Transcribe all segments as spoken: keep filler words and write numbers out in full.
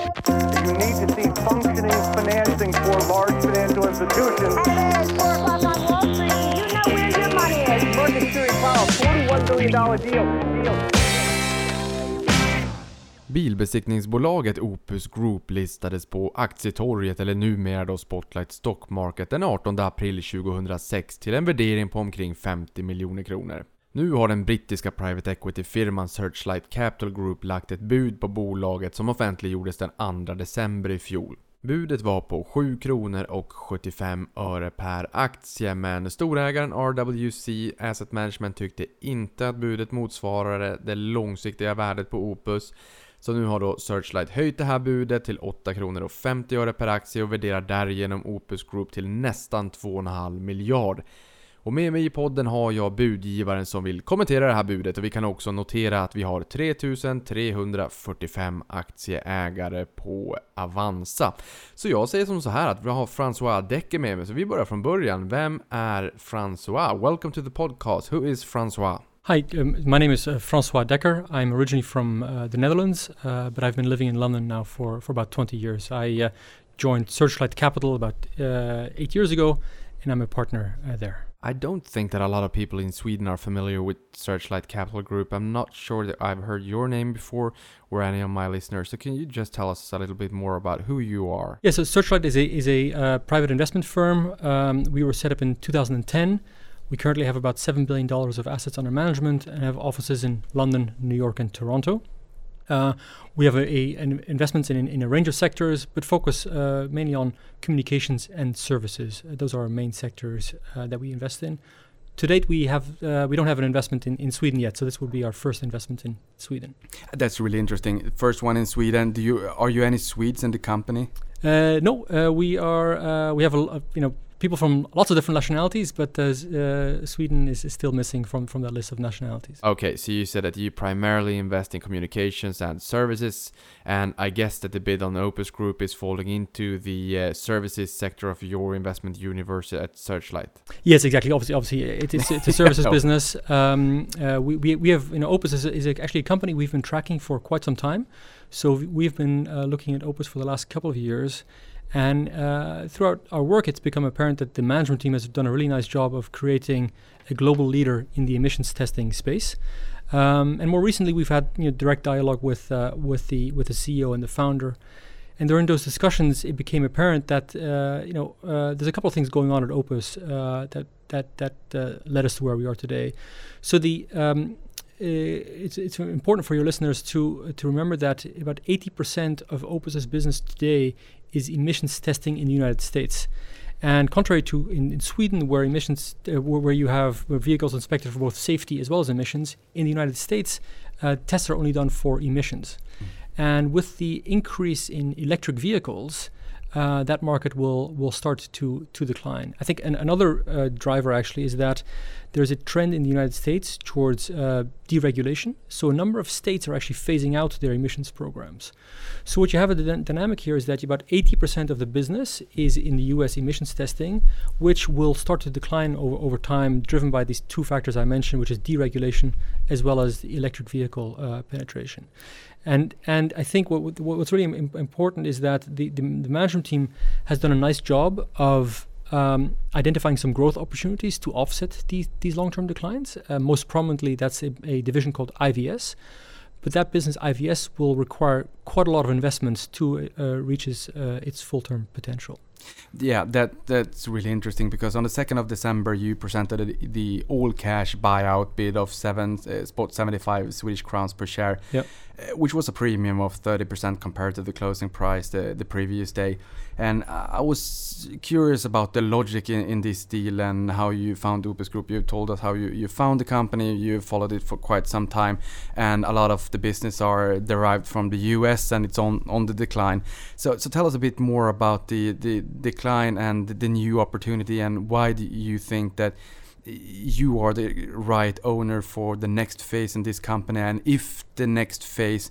You need to see functioning financing for large financial institutions. Hey, it's four o'clock on Wall Street. You know where your money is. Market Security Powell, forty-one billion dollars deal. deal. Bilbesiktningsbolaget Opus Group listades på aktietorget, eller numera då Spotlight Stock Market, den artonde april tjugohundrasex till en värdering på omkring femtio miljoner kronor. Nu har den brittiska private equity-firman Searchlight Capital Group lagt ett bud på bolaget som offentliggjordes den andra december i fjol. Budet var på sju kronor och sjuttiofem öre per aktie, men storägaren R W C Asset Management tyckte inte att budet motsvarade det långsiktiga värdet på Opus. Så nu har då Searchlight höjt det här budet till åtta kronor och femtio öre per aktie och värderar därigenom Opus Group till nästan två komma fem miljard. Och med mig i podden har jag budgivaren som vill kommentera det här budet, och vi kan också notera att vi har tre tusen trehundrafyrtiofem aktieägare på Avanza. Så jag säger som så här att vi har François Decker med mig, så vi börjar från början. Vem är François? Welcome to the podcast. Who is François? Hi, um, my name is uh, François Decker. I'm originally from uh, the Netherlands, uh, but I've been living in London now for, for about twenty years. I uh, joined Searchlight Capital about uh, eight years ago, and I'm a partner uh, there. I don't think that a lot of people in Sweden are familiar with Searchlight Capital Group. I'm not sure that I've heard your name before or any of my listeners. So can you just tell us a little bit more about who you are? Yeah, so Searchlight is a is a uh, private investment firm. Um, we were set up in two thousand ten. We currently have about seven billion dollars of assets under management and have offices in London, New York, and Toronto. Uh, we have a, a an investments in, in a range of sectors, but focus uh, mainly on communications and services. Uh, those are our main sectors uh, that we invest in. To date, we have uh, we don't have an investment in, in Sweden yet, so this will be our first investment in Sweden. That's really interesting. First one in Sweden. Do you are you any Swedes in the company? Uh, no, uh, we are. Uh, we have a, a you know. people from lots of different nationalities, but uh, uh, Sweden is, is still missing from, from that list of nationalities. Okay, so you said that you primarily invest in communications and services, and I guess that the bid on Opus Group is falling into the uh, services sector of your investment universe at Searchlight. Yes, exactly. Obviously, obviously, it is it's a services business. Um, uh, we, we we have you know Opus is, a, is a, actually a company we've been tracking for quite some time. So we've been uh, looking at Opus for the last couple of years. And uh, throughout our work, it's become apparent that the management team has done a really nice job of creating a global leader in the emissions testing space. Um, and more recently, we've had you know, direct dialogue with uh, with the with the C E O and the founder. And during those discussions, it became apparent that uh, you know uh, there's a couple of things going on at Opus uh, that that that uh, led us to where we are today. So the um, It's, it's important for your listeners to uh, to remember that about eighty percent of Opus's business today is emissions testing in the United States. And contrary to in, in Sweden, where emissions, uh, where, where you have vehicles inspected for both safety as well as emissions, in the United States, uh, tests are only done for emissions. Mm. And with the increase in electric vehicles, uh, that market will will start to to decline. I think an, another uh, driver actually is that there's a trend in the United States towards uh, deregulation. So a number of states are actually phasing out their emissions programs. So what you have a d- dynamic here is that about eighty percent of the business is in the U S emissions testing, which will start to decline over, over time, driven by these two factors I mentioned, which is deregulation as well as the electric vehicle uh, penetration. And and I think what, what what's really im- important is that the, the the management team has done a nice job of um, identifying some growth opportunities to offset these these long-term declines. Uh, most prominently, that's a, a division called I V S. But that business, I V S, will require quite a lot of investments to uh, reach its, uh, its full-term potential. Yeah, that that's really interesting, because on the second of December you presented the, the all-cash buyout bid of seven uh, spot seventy-five Swedish crowns per share, yep. uh, which was a premium of thirty percent compared to the closing price the, the previous day. And I was curious about the logic in, in this deal and how you found Opus Group. You told us how you, you found the company, you followed it for quite some time, and a lot of the business are derived from the U S and it's on, on the decline. So so tell us a bit more about the, the decline and the new opportunity, and why do you think that you are the right owner for the next phase in this company, and if the next phase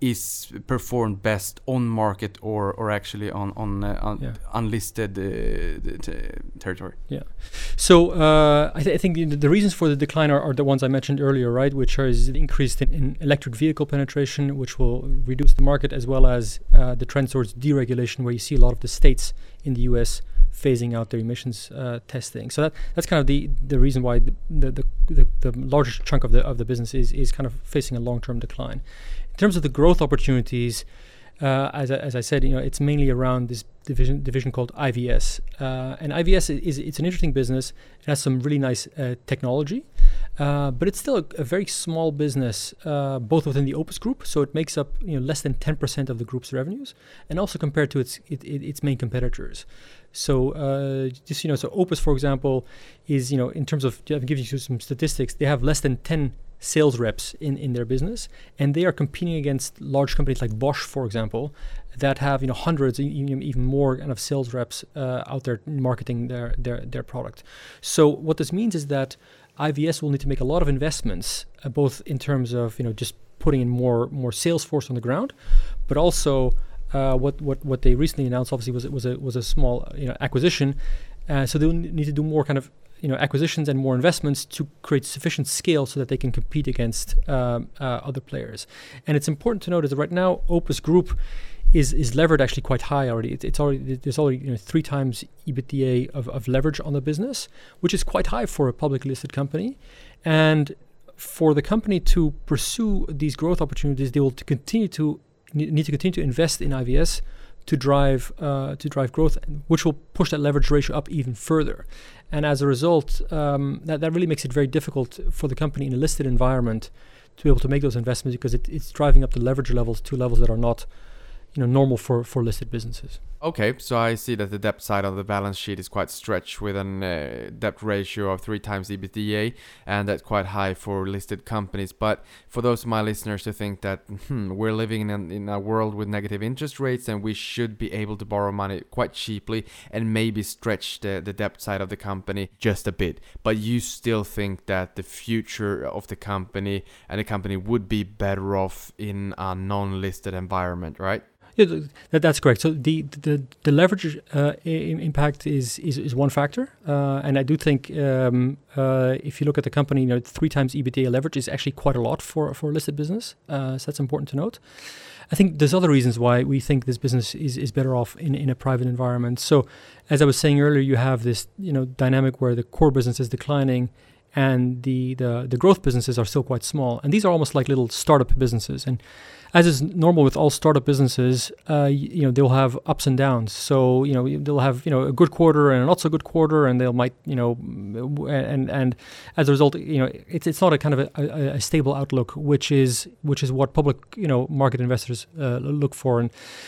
is performed best on market or or actually on on, uh, on Yeah. unlisted uh, t- territory. Yeah. So uh, I, th- I think the, the reasons for the decline are, are the ones I mentioned earlier, right? Which are is increased in, in electric vehicle penetration, which will reduce the market, as well as uh, the trend towards deregulation, where you see a lot of the states in the U S phasing out their emissions uh, testing. So that that's kind of the, the reason why the the, the the the largest chunk of the of the business is is kind of facing a long-term decline. In terms of the growth opportunities, uh, as, I, as I said, you know, it's mainly around this division division called I V S, uh, and I V S is it's an interesting business. It has some really nice uh, technology, uh, but it's still a, a very small business, uh, both within the Opus Group. So it makes up you know less than ten percent of the group's revenues, and also compared to its it, it, its main competitors. So uh, just you know, so Opus, for example, is you know in terms of I'll give you some statistics. They have less than ten sales reps in, in their business, and they are competing against large companies like Bosch, for example, that have you know hundreds, even, even more kind of sales reps uh, out there marketing their, their their product. So what this means is that I V S will need to make a lot of investments, uh, both in terms of you know just putting in more more sales force on the ground, but also uh, what what what they recently announced obviously was was a was a small you know acquisition, uh, so they'll need to do more kind of you know acquisitions and more investments to create sufficient scale so that they can compete against um, uh, other players. And it's important to note that right now Opus Group is is levered actually quite high already. It, it's already there's already you know three times EBITDA of, of leverage on the business, which is quite high for a publicly listed company. And for the company to pursue these growth opportunities, they will to continue to need to continue to invest in I V S to drive uh, to drive growth, which will push that leverage ratio up even further. And as a result, um, that, that really makes it very difficult for the company in a listed environment to be able to make those investments, because it, it's driving up the leverage levels to levels that are not you know normal for, for listed businesses. Okay, so I see that the debt side of the balance sheet is quite stretched with an uh, debt ratio of three times EBITDA, and that's quite high for listed companies. But for those of my listeners who think that hmm, we're living in a, in a world with negative interest rates and we should be able to borrow money quite cheaply and maybe stretch the, the debt side of the company just a bit, but you still think that the future of the company and the company would be better off in a non-listed environment, right? Yeah, that, that's correct. So the the, the leverage uh, I- impact is, is is one factor, uh, and I do think um, uh, if you look at the company, you know, three times EBITDA leverage is actually quite a lot for for a listed business. Uh, so that's important to note. I think there's other reasons why we think this business is, is better off in, in a private environment. So as I was saying earlier, you have this you know dynamic where the core business is declining, and the, the, the growth businesses are still quite small. And these are almost like little startup businesses. And as is normal with all startup businesses, uh, you, you know, they'll have ups and downs. So, you know, they'll have, you know, a good quarter and a not so good quarter, and they'll might, you know, and and as a result, you know, it's it's not a kind of a, a, a stable outlook, which is which is what public, you know, market investors uh, look for. And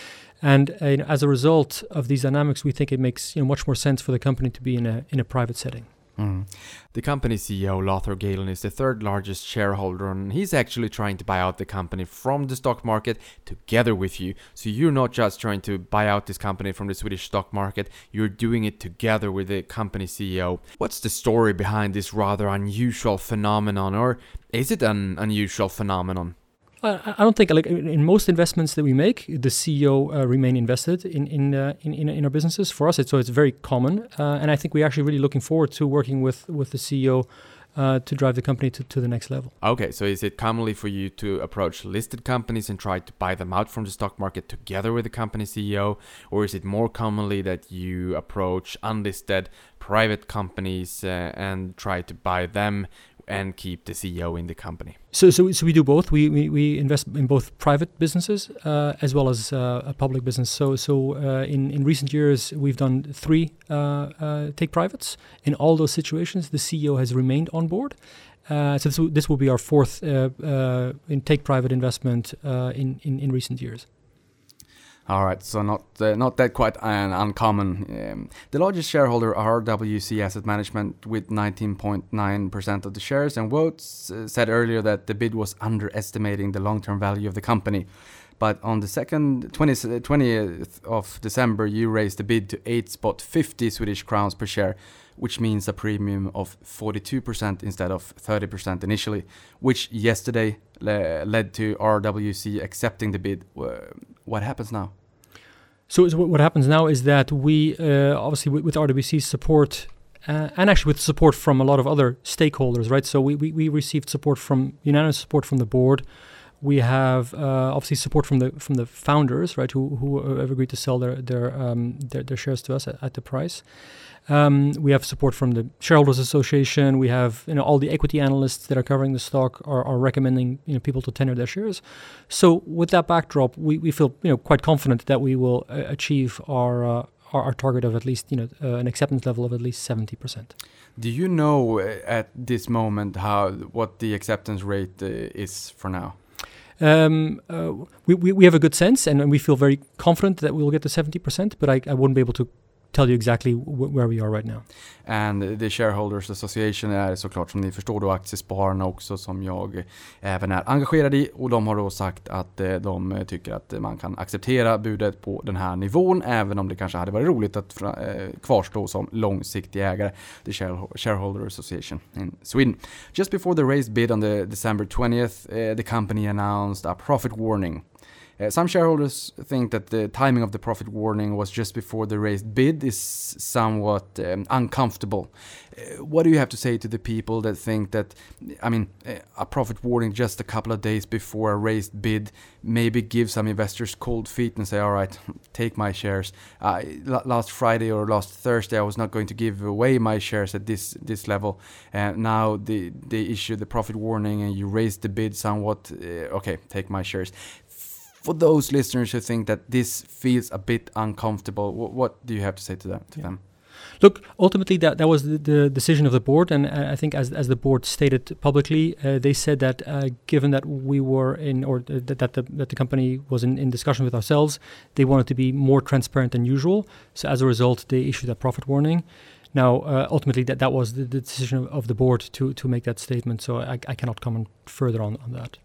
And uh, as a result of these dynamics, we think it makes you know much more sense for the company to be in a in a private setting. Mm. The company C E O, Lothar Galen, is the third largest shareholder, and he's actually trying to buy out the company from the stock market together with you. So you're not just trying to buy out this company from the Swedish stock market, you're doing it together with the company C E O. What's the story behind this rather unusual phenomenon, or is it an unusual phenomenon? I I don't think, like in most investments that we make, the C E O uh, remain invested in in, uh, in in in our businesses. For us, it's so it's very common, uh, and I think we're actually really looking forward to working with with the C E O uh, to drive the company to, to the next level. Okay, so is it commonly for you to approach listed companies and try to buy them out from the stock market together with the company C E O, or is it more commonly that you approach unlisted private companies uh, and try to buy them and keep the C E O in the company? So, so, so we do both. We we, we invest in both private businesses uh, as well as uh, a public business. So, so uh, in in recent years, we've done three uh, uh, take privates. In all those situations, the C E O has remained on board. Uh, so this will, this will be our fourth uh, uh, in take private investment uh, in, in in recent years. All right, so not uh, not that quite uh, uncommon. Um, the largest shareholder, R W C Asset Management, with nineteen point nine percent of the shares and votes, uh, said earlier that the bid was underestimating the long-term value of the company. But on the second twentieth of December, you raised the bid to eight spot fifty Swedish crowns per share, which means a premium of forty-two percent instead of thirty percent initially, which yesterday le- led to R W C accepting the bid. Uh, what happens now? So, so what happens now is that we, uh, obviously with, with R W C's support, uh, and actually with support from a lot of other stakeholders, right? So we, we, we received support from, unanimous support from the board. We have uh, obviously support from the from the founders, right, who who have agreed to sell their their um, their, their shares to us at, at the price. Um, we have support from the Shareholders Association. We have, you know, all the equity analysts that are covering the stock are, are recommending, you know, people to tender their shares. So with that backdrop, we, we feel, you know, quite confident that we will uh, achieve our, uh, our our target of at least, you know, uh, an acceptance level of at least seventy percent. Do you know uh, at this moment how what the acceptance rate uh, is for now? Um, uh, we, we we have a good sense, and, and we feel very confident that we will get to seventy percent, but I, I wouldn't be able to tell you exactly w- where we are right now. And the Shareholders Association är såklart, som ni förstår, då Aktiespararna också, som jag även är engagerad i, och de har då sagt att eh, de tycker att man kan acceptera budet på den här nivån, även om det kanske hade varit roligt att fra, eh, kvarstå som långsiktig ägare. The Share- Shareholder Association in Sweden. Just before the raised bid on the December twentieth, uh, the company announced a profit warning. Uh, some shareholders think that the timing of the profit warning was just before the raised bid is somewhat um, uncomfortable. Uh, what do you have to say to the people that think that, I mean, uh, a profit warning just a couple of days before a raised bid maybe gives some investors cold feet and say, all right, take my shares. Uh, l- last Friday or last Thursday, I was not going to give away my shares at this this level. And uh, now they, they issue the profit warning and you raise the bid somewhat. Uh, okay, take my shares. For those listeners who think that this feels a bit uncomfortable, what, what do you have to say to them? To yeah. them? Look, ultimately that, that was the, the decision of the board, and uh, I think as as the board stated publicly, uh, they said that uh, given that we were in, or th- that that the, that the company was in, in discussion with ourselves, they wanted to be more transparent than usual. So as a result, they issued a profit warning. Now, uh, ultimately, that, that was the, the decision of, of the board to to make that statement. So I, I cannot comment further on, on that.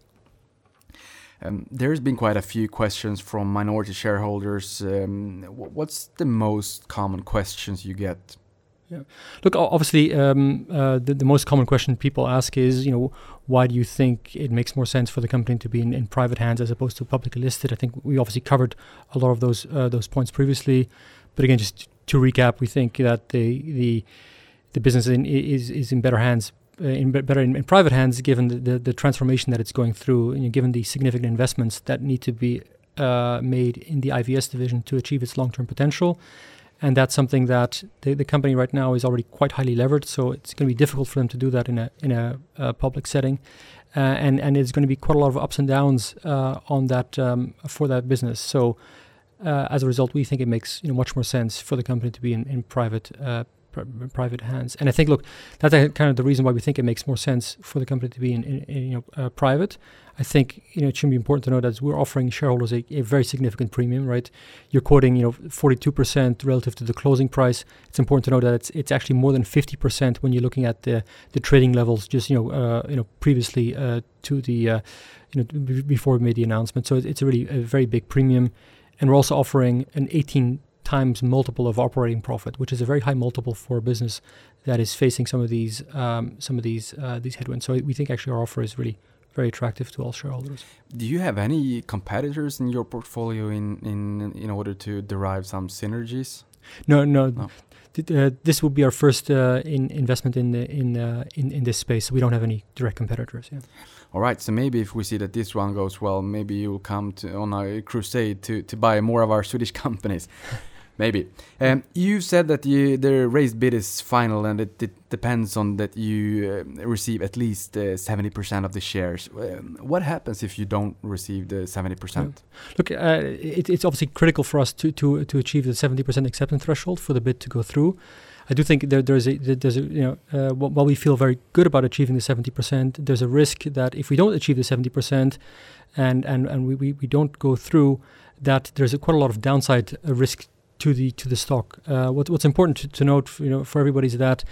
Um, there's been quite a few questions from minority shareholders. Um, wh- what's the most common questions you get? Yeah. Look, o- obviously, um, uh, the, the most common question people ask is, you know, why do you think it makes more sense for the company to be in, in private hands as opposed to publicly listed? I think we obviously covered a lot of those uh, those points previously, but again, just to recap, we think that the the the business in, is is in better hands. Uh, in be- better in, in private hands, given the, the, the transformation that it's going through, and given the significant investments that need to be uh, made in the I V S division to achieve its long-term potential. And that's something that the, the company right now is already quite highly levered, so it's going to be difficult for them to do that in a in a, a public setting, uh, and and it's going to be quite a lot of ups and downs uh, on that um, for that business. So uh, as a result, we think it makes, you know, much more sense for the company to be in in private. Uh, private hands. And I think, look, that's kind of the reason why we think it makes more sense for the company to be in, in, in you know, uh, private. I think, you know, it should be important to know that we're offering shareholders a, a very significant premium, right? You're quoting, you know, forty-two percent relative to the closing price. It's important to know that it's it's actually more than fifty percent when you're looking at the the trading levels, just, you know, uh, you know, previously uh, to the, uh, you know, b- before we made the announcement. So it's a really a very big premium. And we're also offering an eighteen times multiple of operating profit, which is a very high multiple for a business that is facing some of these um, some of these uh, these headwinds. So we think actually our offer is really very attractive to all shareholders. Do you have any competitors in your portfolio in in in order to derive some synergies? No, no. No. Th- uh, this will be our first uh, in investment in the, in, uh, in in this space. So we don't have any direct competitors. Yeah. All right, so maybe if we see that this one goes well, maybe you'll come to, on a crusade to, to buy more of our Swedish companies. Maybe. Um, you said that you, the raised bid is final and it, it depends on that you uh, receive at least uh, seventy percent of the shares. Um, what happens if you don't receive the seventy percent? Yeah. Look, uh, it, it's obviously critical for us to, to, to achieve the seventy percent acceptance threshold for the bid to go through. I do think there, there's a, there's a, you know, uh, while we feel very good about achieving the seventy percent, there's a risk that if we don't achieve the seventy percent and, and, and we, we, we don't go through, that there's a, quite a lot of downside uh, risk to the to the stock. Uh, what, what's important to, to note, you know, for everybody is that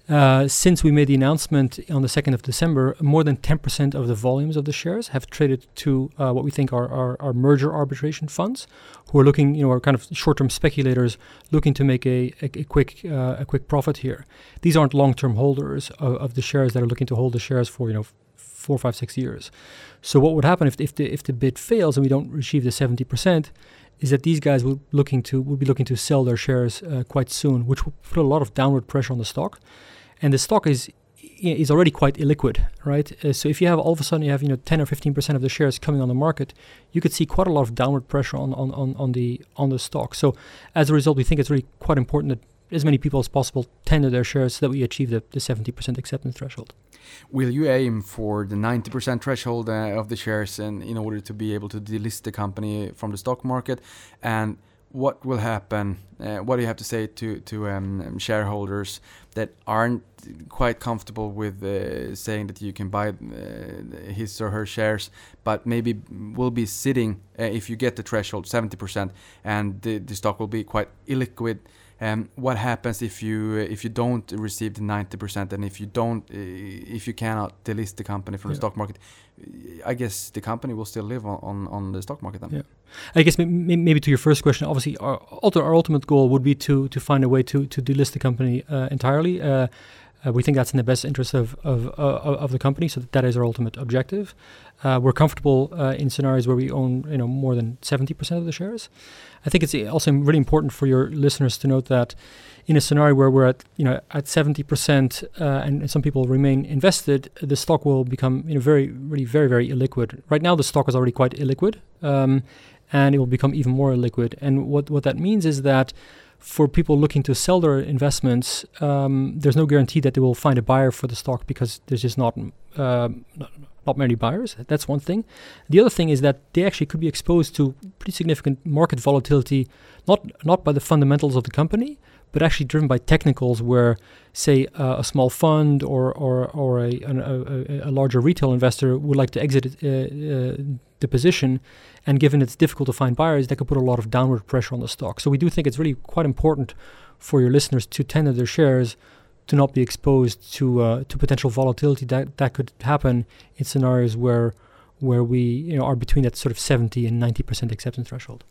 Uh, since we made the announcement on the second of December, more than ten percent of the volumes of the shares have traded to uh, what we think are, are, are merger arbitration funds, who are looking, you know, are kind of short-term speculators looking to make a, a, a quick uh, a quick profit here. These aren't long-term holders of, of the shares that are looking to hold the shares for, you know, four, five, six years. So what would happen if if the if the bid fails and we don't achieve the seventy percent? Is that these guys would looking to would be looking to sell their shares uh, quite soon, which will put a lot of downward pressure on the stock. And the stock is is already quite illiquid, right? Uh, so if you have all of a sudden you have you know ten or fifteen percent of the shares coming on the market, you could see quite a lot of downward pressure on on, on, on the on the stock. So as a result, we think it's really quite important that as many people as possible tender their shares so that we achieve the, the seventy percent acceptance threshold. Will you aim for the ninety percent threshold uh, of the shares and in order to be able to delist the company from the stock market? And what will happen? Uh, what do you have to say to to um, shareholders that aren't quite comfortable with uh, saying that you can buy uh, his or her shares, but maybe will be sitting uh, if you get the threshold seventy percent and the, the stock will be quite illiquid? Um, what happens if you uh, if you don't receive the ninety percent and if you don't uh, if you cannot delist the company from yeah. the stock market? I guess the company will still live on, on, on the stock market then. Yeah. I guess maybe, maybe to your first question, obviously our, our ultimate goal would be to to find a way to to delist the company uh, entirely. Uh, Uh, we think that's in the best interest of of, uh, of the company, so that, that is our ultimate objective. Uh, we're comfortable uh, in scenarios where we own, you know, more than seventy percent of the shares. I think it's also really important for your listeners to note that in a scenario where we're at, you know, at seventy percent uh, and, and some people remain invested, the stock will become, you know, very, really, very, very illiquid. Right now, the stock is already quite illiquid, um, and it will become even more illiquid. And what what that means is that for people looking to sell their investments, um, there's no guarantee that they will find a buyer for the stock because there's just not, uh, not not many buyers. That's one thing. The other thing is that they actually could be exposed to pretty significant market volatility, not not by the fundamentals of the company, but actually driven by technicals where, say, uh, a small fund or or, or a, an, a, a larger retail investor would like to exit uh, uh, the position, and given it's difficult to find buyers, that could put a lot of downward pressure on the stock. So we do think it's really quite important for your listeners to tender their shares to not be exposed to uh, to potential volatility that, that could happen in scenarios where where we you know are between that sort of seventy and ninety percent acceptance threshold.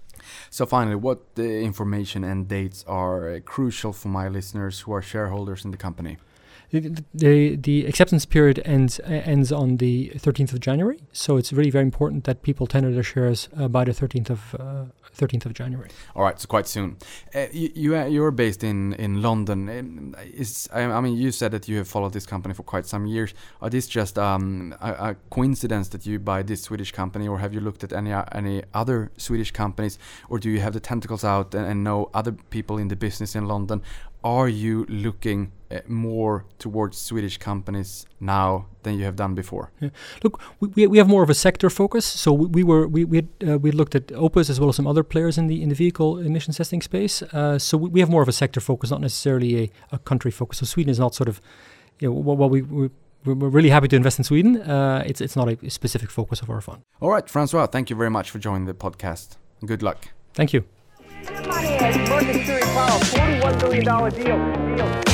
So finally, what uh, information and dates are uh, crucial for my listeners who are shareholders in the company? The, the, the acceptance period ends uh, ends on the thirteenth of January, so it's really very important that people tender their shares uh, by the thirteenth of uh, thirteenth of January. All right, so quite soon. Uh, you, you uh, you're based in in London. Um, is I, I mean, you said that you have followed this company for quite some years. Are this just um, a, a coincidence that you buy this Swedish company, or have you looked at any uh, any other Swedish companies, or do you have the tentacles out and, and know other people in the business in London? Are you looking uh, more towards Swedish companies now than you have done before? Yeah. Look, we we have more of a sector focus. So we, we were we we had, uh, we looked at Opus as well as some other players in the in the vehicle emissions testing space. Uh, so we, we have more of a sector focus, not necessarily a, a country focus. So Sweden is not sort of, you know, what, what we. we We're really happy to invest in Sweden. Uh, it's it's not a specific focus of our fund. All right, Francois, thank you very much for joining the podcast. Good luck. Thank you. Mercury Power, forty-one billion dollars deal. deal.